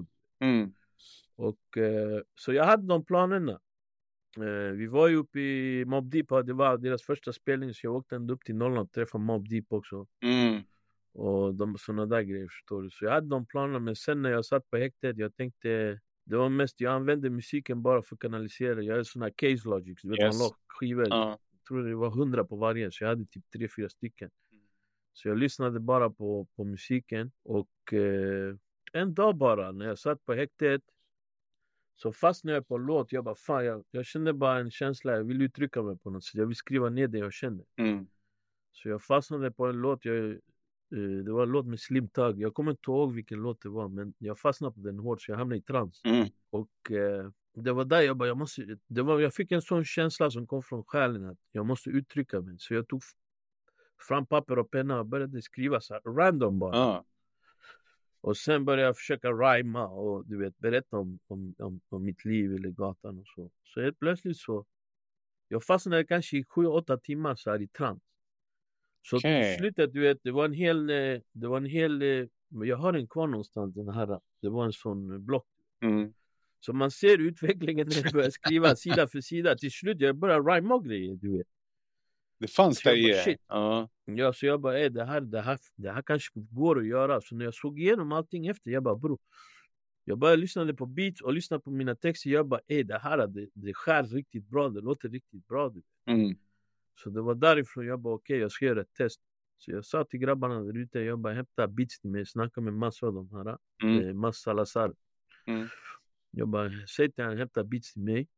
Och så jag hade de planerna. Vi var ju uppe i Mobb Deep, det var deras första spelning, så jag åkte ända upp till Norrland och träffade Mobb Deep också. Och sådana där grejer, förstår du. Så jag hade de planerna, men sen när jag satt på häktet, jag tänkte, det var mest, jag använde musiken bara för att kanalisera. Jag hade sådana här case logics, du vet, man la skivor, jag tror det var 100 på varje, så jag hade typ 3-4 stycken. Så jag lyssnade bara på musiken, och en dag bara, när jag satt på häktet, så fastnade jag på en låt. Jag bara, fan, jag kände bara en känsla. Jag vill uttrycka mig på något sätt. Jag vill skriva ner det jag kände. Så jag fastnade på en låt. Det var en låt med Slim Thug. Jag kommer inte ihåg vilken låt det var, men jag fastnade på den hårt, så jag hamnade i trans. Och det var där jag bara, jag fick en sån känsla som kom från själen att jag måste uttrycka mig. Så jag tog fram papper och penna och började skriva så här, random bara. Och sen började jag försöka rhyma och du vet, berätta om mitt liv eller gatan och så. Så helt plötsligt så, jag fastnade kanske i 7-8 timmar så här i trans. Så till slutet, du vet, det var en hel, jag har den kvar någonstans den här, det var en sån block. Så man ser utvecklingen när jag börjar skriva sida för sida. Till slut jag börjar rhyma och grejer, du vet. Det fanns där i. Ja, så jag bara, det här kanske går att göra. Så när jag såg igenom allting efter, jag bara, bro. Jag bara lyssnade på beats och lyssnade på mina texter. Jag bara, det skär riktigt bra. Det låter riktigt bra. Så det var därifrån jag bara, okej, jag ska göra ett test. Så jag sa till grabbarna där ute, jag bara, hämta beats till mig. Snacka med massa av de här. Massa Salazar. Jag bara, säg till han, hämta beats till mig.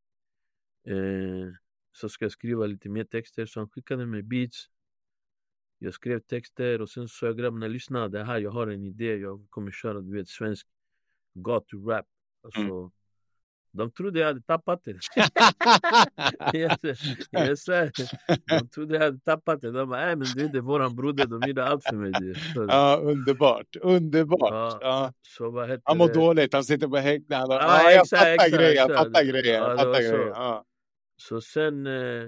Så ska jag skriva lite mer texter. Så han skickade mig beats. Jag skrev texter och sen så jag grabbarna, lyssna, det här, jag har en idé. Jag kommer köra, du vet, svensk gatu-rap. Alltså, de trodde jag hade tappat det. Jag sa, de trodde jag hade tappat det. De bara, men du är våran broder, de gjorde allt för mig. Ja, underbart. Ja. Så vad heter han mår dåligt, han sitter på häktet. Jag fattar grejer. Ja. Så sen,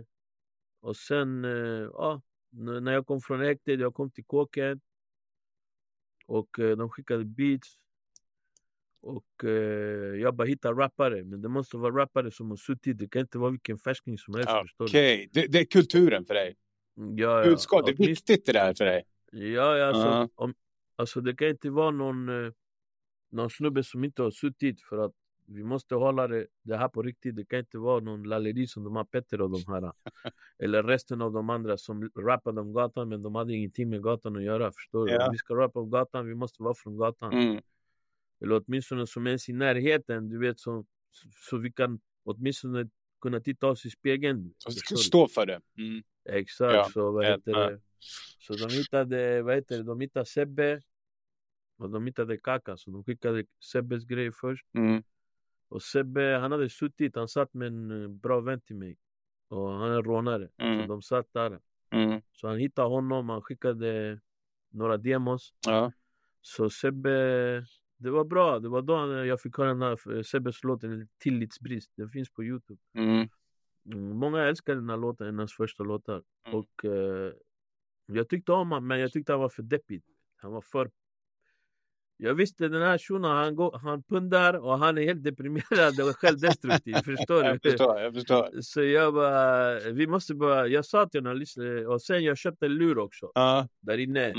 när jag kom från häktet, jag kom till kåken. Och de skickade beats. Och jag bara hittar rappare. Men det måste vara rappare som har suttit. Det kan inte vara vilken färsking som helst. Okej, det är kulturen för dig. Ja. Budskap, det är viktigt det där för dig. Ja, alltså det kan inte vara någon snubbe som inte har suttit. För att vi måste hålla det här på riktigt. Det kan inte vara någon lalleri som de har Petter och de här. Eller resten av de andra som rappade om gatan. Men de hade ingenting med gatan att göra. Förstår du? Om vi ska rappa om gatan, vi måste vara från gatan. Eller åtminstone som ens i närheten. Du vet, så vi kan åtminstone kunna titta oss i spegeln. Så ska stå för det. Exakt. Så vad heter det? Så de hittade, de hittade Sebbe. Och de hittade Kaka. Så de skickade Sebbes grej först. Och Sebbe, han hade suttit. Han satt med en bra vän till mig. Och han är rånare. Så de satt där. Så han hittade honom. Han skickade några demos. Så Sebbe, det var bra. Det var då jag fick höra den här Sebbes låt, Tillitsbrist. Den finns på YouTube. Många älskar den här låten, hennes första låtar. Och jag tyckte om honom, men jag tyckte han var för deppig. Han var för... Jag visste den här shunon, han pundar och han är helt deprimerad och självdestruktiv. Förstår du? Jag förstår. Så jag bara, jag sa till honom, och sen jag köpte en lur också. Där inne.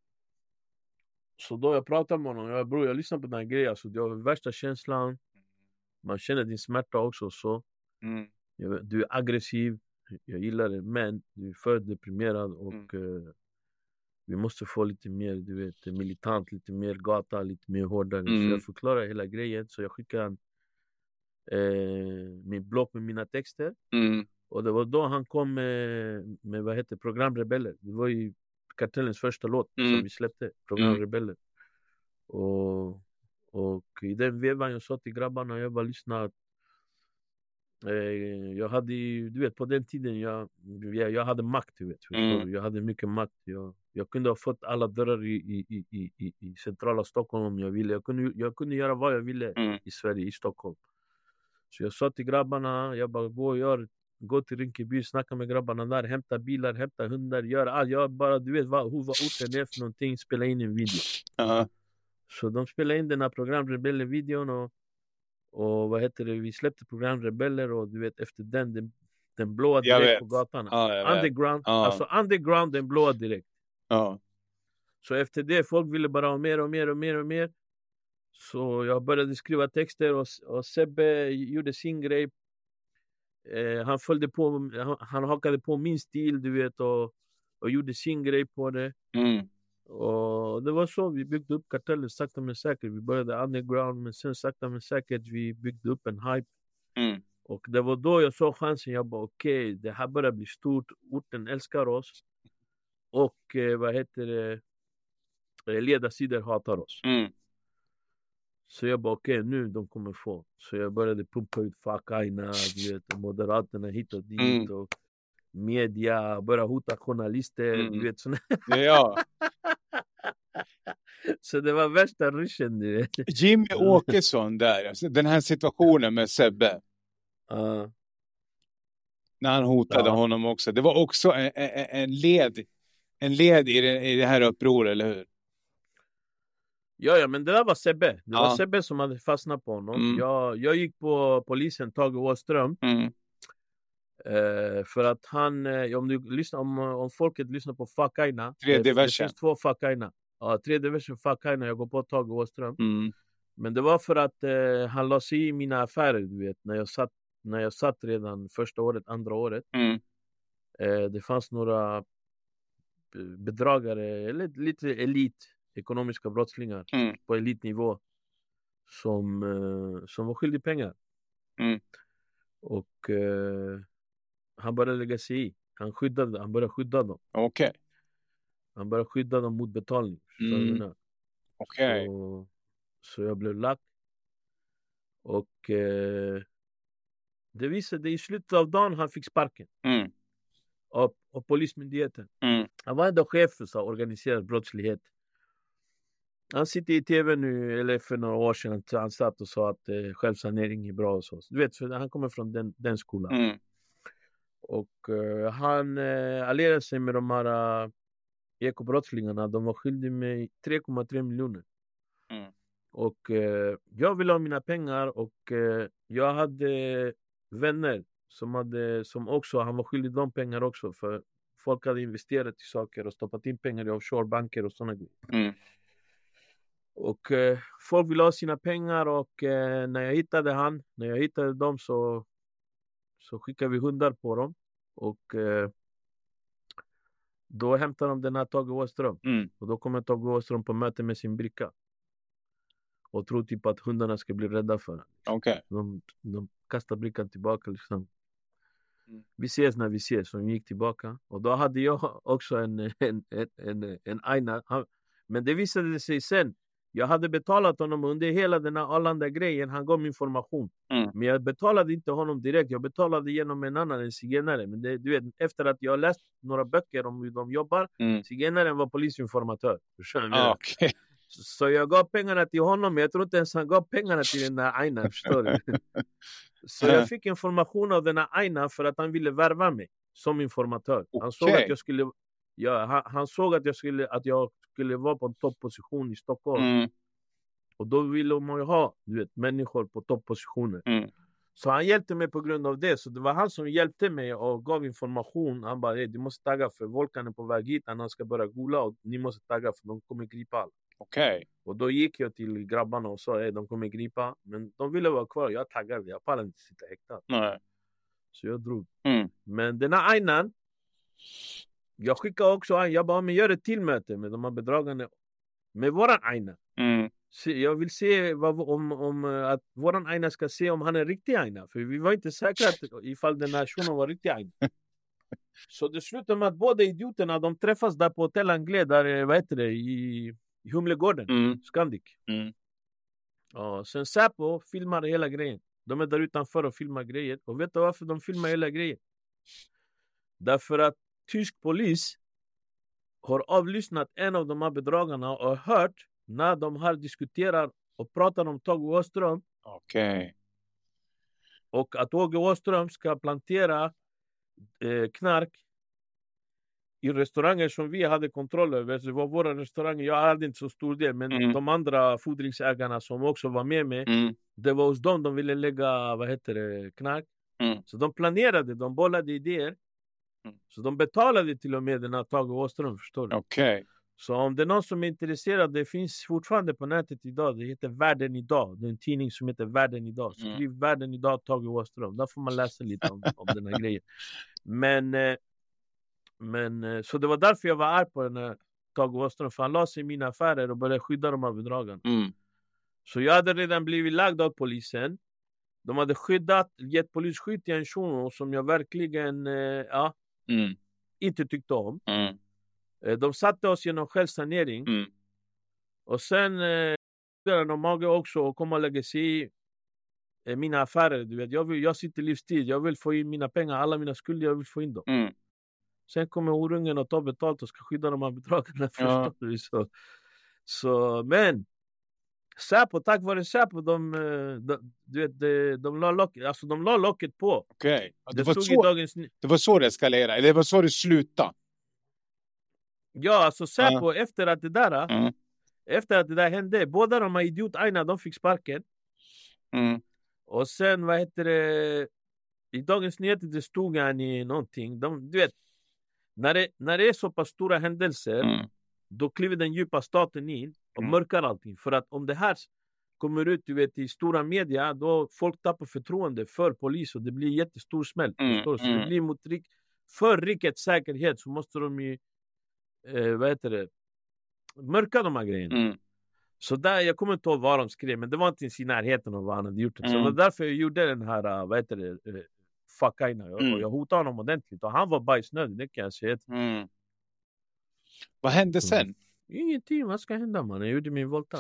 Så då jag pratade med honom, jag lyssnar på den här grejen. Alltså, det var värsta känslan. Man känner din smärta också. Så. Du är aggressiv. Jag gillar det. Men du är för deprimerad. Och vi måste få lite mer, du vet, militant. Lite mer gata, lite mer hårdare. Så jag förklarar hela grejen. Så jag skickade min blogg med mina texter. Och det var då han kom med vad heter Programrebeller. Det var ju Kartellens första låt som vi släppte, Programrebeller. Och i den vevan jag sa till grabbarna, jag bara lyssnade. Jag hade, du vet, på den tiden jag hade makt, du vet. Förstår du? Jag hade mycket makt. Jag kunde ha fått alla dörrar i centrala Stockholm om jag ville. Jag kunde göra vad jag ville i Sverige, i Stockholm. Så jag sa till grabbarna, jag bara gå till Rinkeby, snacka med grabbarna där, hämta bilar, hämta hundar, gör allt. Jag bara, du vet hur orten är för någonting, spela in en video. Så de spelade in den här Programrebeller-videon och vad heter det, vi släppte Programrebeller och du vet efter den blåa direkt på gatan. Underground, alltså underground, den blåa direkt. Så efter det, folk ville bara ha mer och mer och mer och mer. Så jag började skriva texter och Sebbe gjorde sin grej. Han hakade på min stil, du vet, och gjorde sin grej på det. Och det var så vi byggde upp Kartellen sakta men säkert. Vi började underground, men sen sakta men säkert vi byggde upp en hype. Och det var då jag såg chansen. Jag bara okej, det här börjar bli stort. Orten älskar oss. Och vad heter det, ledarsidor hatar oss. Så jag bara okej, nu de kommer få. Så jag började pumpa ut fuck Aina, du vet, och Moderaterna hit och dit och media, började hota journalister, du vet såna. Ja. Så det var värsta ryschen, du vet. Jimmy Åkesson där, alltså, den här situationen med Sebbe. När han hotade honom också. Det var också en led i det här upproret, eller hur? Ja, men det där var Sebbe. Det var Sebbe som hade fastnat på honom. Jag gick på polisen, Tage Åström. För att han, om folket lyssnar på Fuck Aina. Det finns 2 Fuck Aina. Ja, 3D version Fuck Aina, jag går på Tage Åström. Men det var för att han la sig i mina affärer, du vet. När jag satt redan första året, andra året. Det fanns några bedragare, eller lite ekonomiska brottslingar på elitnivå som var skyldig pengar. Och han började lägga sig i. Han började skydda dem. Okej. Han började skydda dem mot betalning. Okej. Så jag blev lack. Och det visade i slutet av dagen han fick sparken. Av polismyndigheten. Han var ändå chef för organiserad brottslighet. Han sitter i tv nu, eller för några år sedan, han satt och sa att självsanering är bra och så. Du vet, för han kommer från den skolan. Och han allierade sig med de här ekobrottslingarna. De var skyldiga med 3,3 miljoner. Och jag ville ha mina pengar, och jag hade vänner som också, han var skyldig de pengar också, för folk hade investerat i saker och stoppat in pengar i offshorebanker och sådana grejer. Och folk ville ha sina pengar, och när jag hittade dem så skickade vi hundar på dem, och då hämtade de den här Tage Åström. Och då kommer Tage Åström på möte med sin bricka och tror typ att hundarna ska bli rädda för honom. De kastar brickan tillbaka liksom. Vi ses när vi ses. Så vi gick tillbaka. Och då hade jag också en Aina. Men det visade sig sen. Jag hade betalat honom under hela den här Arlanda-grejen. Han gav mig information. Men jag betalade inte honom direkt. Jag betalade genom en zigenare. Men du vet, efter att jag läst några böcker om hur de jobbar. Zigenaren var polisinformatör. Okay. Så jag gav pengarna till honom. Men jag tror inte ens han gav pengarna till den där Aina. Förstår du? Så jag fick information av den här Aina för att han ville värva mig som informatör. Han såg att jag skulle... han såg att jag skulle vara på en toppposition i Stockholm. Och då ville man ju ha, du vet, människor på topppositioner. Så han hjälpte mig på grund av det. Så det var han som hjälpte mig och gav information. Han bara, du måste tagga för Volkan är på väg hit. Han ska börja gola och ni måste tagga för de kommer gripa alla. Och då gick jag till grabbarna och sa, de kommer gripa. Men de ville vara kvar. Jag taggade, jag pallade inte sitta häktad. Så jag drog. Men den här Ainan, jag skickade också, jag bara, men gör ett till möte med de här bedragarna. Med våran Aina. Jag vill se om att våran Aina ska se om han är riktig Aina. För vi var inte säkra ifall den här shunon var riktig Aina. Så det slutade med att båda idioterna, de träffas där på Hotel Anglais, där, i Humlegården, Scandic. Och sen Säpo filmar hela grejen. De är där utanför och filmar grejer. Och vet du varför de filmar hela grejen? Därför att tysk polis har avlyssnat en av de här bedragarna och hört när de har diskuterat och pratat om Tage Åström. Och att Tage Åström ska plantera knark i restauranger som vi hade kontroll över. Så det var våra restauranger. Jag hade inte så stor del, men de andra fodringsägarna som också var med mig, det var hos dem de ville lägga, knark. Så de planerade, de bollade idéer. Så de betalade till och med den här Tage Åström, förstår du? Så om det är någon som är intresserad, det finns fortfarande på nätet idag, det heter Världen idag. Det är en tidning som heter Världen idag. Skriv Världen idag, Tage Åström. Där får man läsa lite om den här grejen. Men så det var därför jag var arg på den här Tage Åström, för han la sig i mina affärer och började skydda de här bedragarna. Så jag hade redan blivit lagd av polisen. De hade gett polisskydd till en shuno som jag verkligen inte tyckte om. De satte oss genom självsanering. Och sen de mage också att komma och lägga sig i mina affärer. Du vet, jag sitter livstid. Jag vill få in mina pengar. Alla mina skulder, jag vill få in dem. Sen kommer orungen att ta betalt och ska skydda de här bedragarna. Förstår du? Så, men Säpo, tack vare Säpo, de la locket på. Okej. Det var så det eskalerade, eller det var så det slutade. Ja, alltså Säpo, efter att det där hände, båda de här idiotarna, de fick sparken. Och sen, i Dagens Nyheter det stod i någonting. Du vet, när det är så pass stora händelser, då kliver den djupa staten in och mörkar allting. För att om det här kommer ut, du vet, i stora media, då folk tappar förtroende för polis och det blir jättestor smäll. Så det blir för rikets säkerhet så måste de ju mörka de här grejerna. Så där, jag kommer inte ihåg vad de skrev, men det var inte i närheten av vad han hade gjort. Så det var därför jag gjorde den här, fuckaina. Och jag hotade honom ordentligt. Och han var bajsnödig, det kan jag säga. Vad hände sen? Ingenting, vad ska hända, man? Jag gjorde min volta.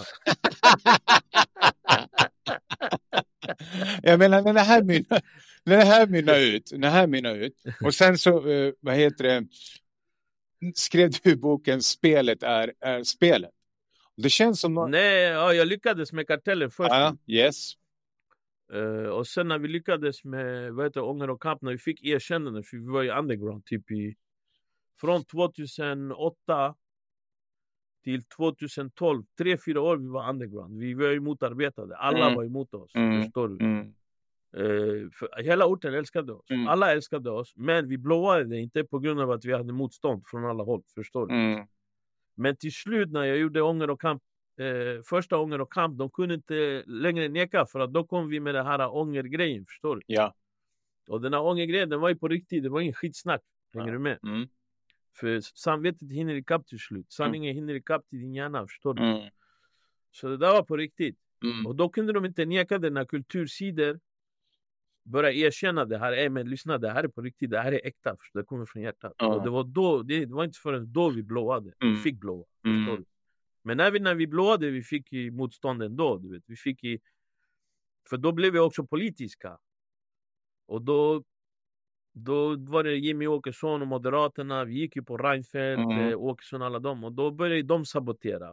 Jag menar, när det här mynnar ut. Och sen så, skrev du i boken Spelet är spelet. Det känns som... Nej, jag lyckades med Kartellen först. Yes. Och sen när vi lyckades med Ånger och kamp, när vi fick erkännande, för vi var i underground typ från 2008 till 2012, 3-4 år vi var underground. Vi var ju motarbetade, alla var emot oss, förstår du? För hela orten älskade oss, alla älskade oss, men vi blåade det inte på grund av att vi hade motstånd från alla håll, förstår du? Men till slut när jag gjorde Ånger och kamp, första Ånger och kamp, de kunde inte längre neka, för att då kom vi med det här ångergrejen, förstår du? Ja. Och den här ångergrejen, den var ju på riktigt, det var ingen skitsnack, hänger du med? För samvetet hinner ikapp till slut, sanningen hinner ikapp till din hjärna, förstår du? Så det där var på riktigt. Och då kunde de inte neka det när kultursidor börja erkänna det här. Men lyssna, det här är på riktigt, det här är äkta, förstår? Det kommer från hjärtat. Och det var då, det var inte förrän då vi blåade. Vi fick blåa, förstår du? Men när vi blåade, vi fick i motstånden då, du vet. Vi fick för då blev vi också politiska. Och då var det Jimmy Åkesson och Moderaterna. Vi gick ju på Reinfeldt, Åkesson, alla dem. Och då började de sabotera.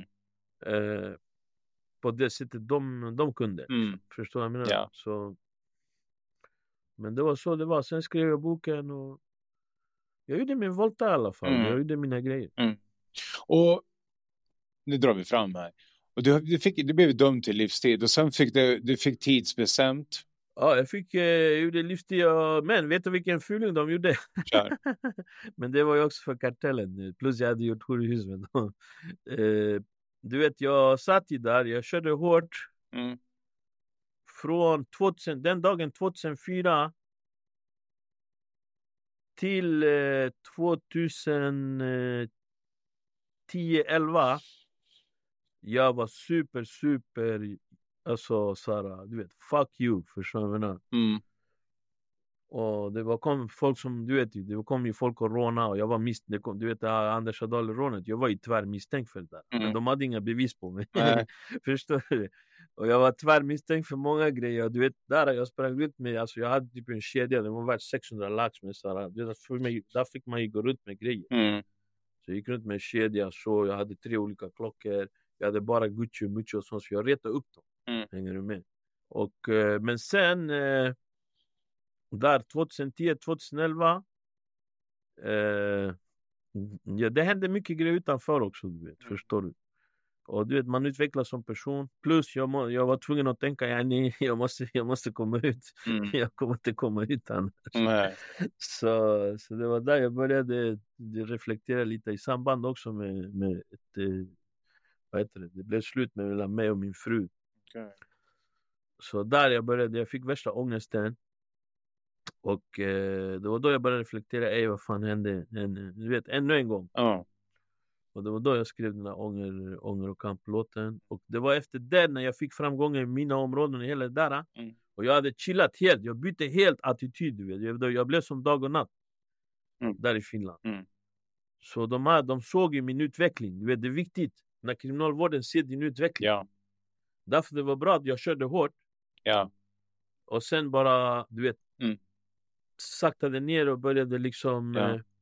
På det sättet de kunde. Förstår du vad jag menar? Ja. Så, men det var så det var. Sen skrev jag boken och jag gjorde min volta i alla fall. Jag gjorde mina grejer. Och nu drar vi fram här. Och du blev dömd till livstid. Och sen fick du fick tidsbestämt. Ja, jag gjorde livstid. Men vet du vilken fuling de gjorde? Kör. Men det var ju också för Kartellen. Plus jag hade gjort horhus med dem. Du vet, jag satt där. Jag körde hårt. Från den dagen 2004 till 2010-11. Jag var super, alltså såhär, du vet, fuck you, förstår du vad jag menar? Och det kom folk som, du vet, det kom ju folk och råna och jag var misstänkt, du vet, Anders Adal-rånet, jag var ju tyvärr misstänkt för det där. Men de hade inga bevis på mig, förstår du? Och jag var tyvärr misstänkt för många grejer, du vet, där jag sprang ut med, alltså jag hade typ en kedja, den var värd 600 lax med såhär, där fick man ju gå runt med grejer. Så jag gick runt med en kedja, så jag hade 3 olika klockor, jag hade bara Gucci och Mucci och sånt, så jag retade upp dem, hänger du med? Och, men sen... där 2010-2011 det hände mycket grejer utanför också, du vet, förstår du? Och du vet, man utvecklas som person. Plus jag var tvungen att tänka, jag måste komma ut. Jag kommer inte komma ut annars. Så det var där jag började reflektera lite i samband också med det blev slut mellan mig och min fru. Så där jag fick värsta ångesten. Och det var då jag började reflektera, vad fan hände? Du vet, ännu en gång. Och det var då jag skrev den här ånger och kamplåten. Och det var efter det, när jag fick framgångar i mina områden och hela det där. Och jag hade chillat helt, jag bytte helt attityd, du vet. Jag blev som dag och natt där i Finland. Så de såg ju min utveckling, du vet, det är viktigt när kriminalvården ser din utveckling. Därför det var bra att jag körde hårt. Ja. Och sen bara, du vet, saktade ner och började liksom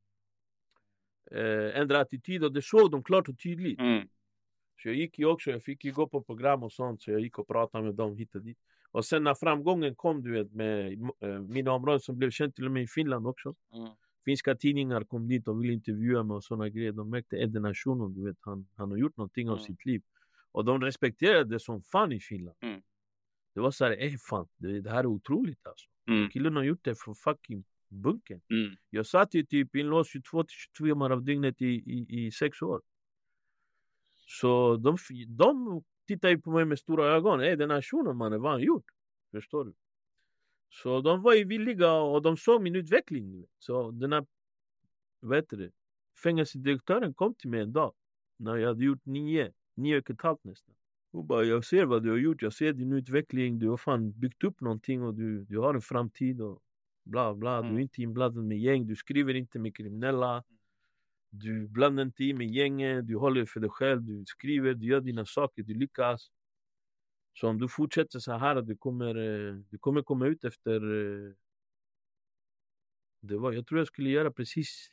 ändra attityd. Och det såg de klart och tydligt. Så jag gick ju också, jag fick ju gå på program och sånt. Så jag gick och pratade med dem hit och dit. Och sen när framgången kom, du vet, med mina områden som blev känt till och med i Finland också. Finska tidningar kom dit och ville intervjua mig och sådana grejer. De märkte Ed Nationen, du vet, han har gjort någonting av sitt liv. Och de respekterade det som fan i Finland. Det var så här, fan, det här är otroligt alltså. Killen har gjort det för fucking bunken. Jag satt ju typ inlåst 22-23 timmar av dygnet i 6 år. Så de tittade ju på mig med stora ögon. Den här shunon, mannen, vad han gjort? Förstår du? Så de var ju villiga och de såg min utveckling. Så den här, fängelsedirektören kom till mig en dag. När jag hade gjort 9,5 nästan. Hon bara, jag ser vad du har gjort. Jag ser din utveckling. Du har fan byggt upp någonting och du har en framtid och bla bla. Du är inte inblandad med gäng. Du skriver inte med kriminella. Du blandar inte i med gängen. Du håller för dig själv. Du skriver, du gör dina saker. Du lyckas. Så om du fortsätter så här, du kommer komma ut efter... jag tror jag skulle göra precis...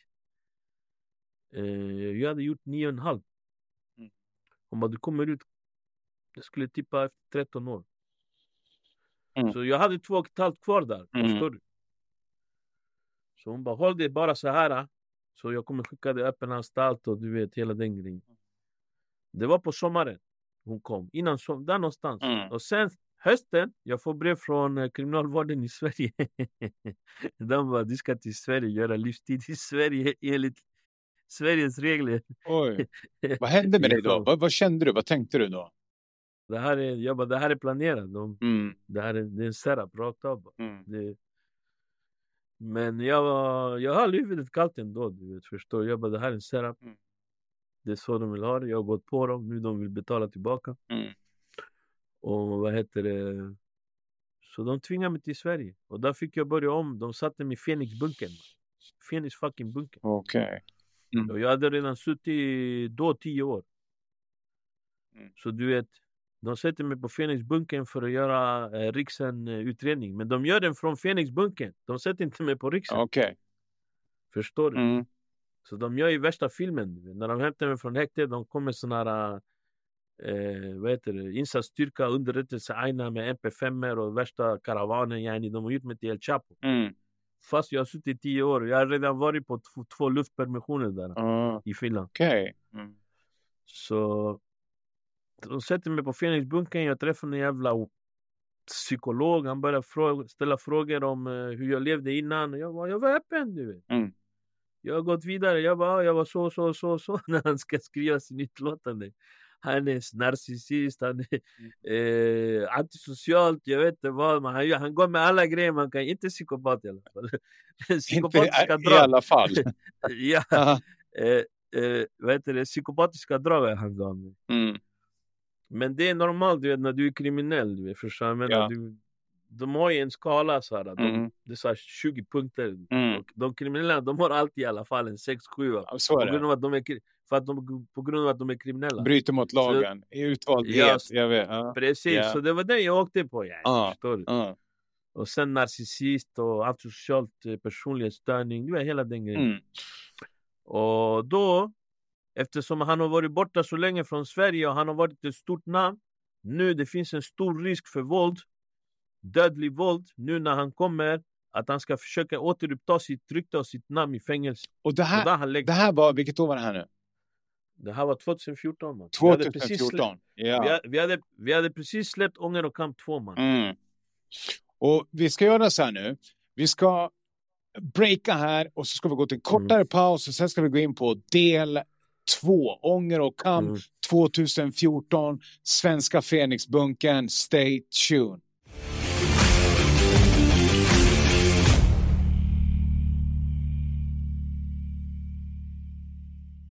jag hade gjort 9,5. Hon bara, du kommer ut... Jag skulle tippa efter 13 år. Så jag hade 2,5 kvar där. Förstår du? Så hon bara, håll det bara så här. Så jag kommer skicka dig öppen anstalt och du vet hela den grejen. Det var på sommaren hon kom. Innan där någonstans. Och sen hösten, jag får brev från kriminalvården i Sverige. De bara, du ska till Sverige, göra livstid i Sverige enligt Sveriges regler. Oj. Vad hände med dig då? Vad kände du? Vad tänkte du då? Det här är planerat. Det är en setup rakt av. Men jag har huvudet kallt ändå, du vet, förstår. Jag bara, det här är en setup. Det är så de vill ha det. Jag har gått på dem. Nu de vill betala tillbaka. Och så de tvingade mig till Sverige. Och där fick jag börja om. De satte mig i Fenixbunken. Fenix fucking bunken. Okej. Och jag hade redan suttit då 10 år. Så du vet, de sätter mig på Fenixbunken för att göra Riksen utredning. Men de gör den från Fenixbunken. De sätter inte mig på Riksen. Okej. Förstår du? Så de gör ju värsta filmen. När de hämtar mig från häktet, de kommer såna här insatsstyrka, underrättelse, aina med MP5 och värsta karavanen. Yani, de har gjort mig till El Chapo. Fast jag har suttit 10 år. Jag har redan varit på 2 luftpermissioner där i Finland. Okej. Så de sätter mig på Fenixbunken. Jag träffade en jävla psykolog. Han började ställa frågor om hur jag levde innan. Jag var öppen, du vet. Jag har gått vidare. Jag var så när han ska skriva sin utlåtande. Han är narcissist, han är antisocialt, jag vet inte vad. Men han går med alla grejer, man kan inte psykopat i alla fall. Psykopatiska drag. I alla fall. Ja. Psykopatiska drag han gav mig. Men det är normalt, du vet, när du är kriminell, du vet, förstår jag menar, de har ju en skala så här, det är så här 20 punkter. Och de kriminella, de har alltid i alla fall en 6-7. Så är det. På grund av att de är kriminella. Bryter mot lagen. I utvaldhet. Jag vet. Precis, så det var det jag åkte på. Förstår du? Och sen narcissist och antisocialt personlighetsstörning. Det var hela den grejen. Och då, eftersom han har varit borta så länge från Sverige och han har varit ett stort namn. Nu det finns en stor risk för våld. Dödlig våld. Nu när han kommer. Att han ska försöka återuppta sitt rykte och sitt namn i fängelse. Och det här var, vilket år var det här nu? Det här var 2014, man. 2014, vi hade precis släppt Ånger och kamp 2, man. Och vi ska göra så här nu. Vi ska breaka här och så ska vi gå till en kortare paus och sen ska vi gå in på del 2. Ånger och kamp 2014. Svenska Fenixbunken. Stay tuned.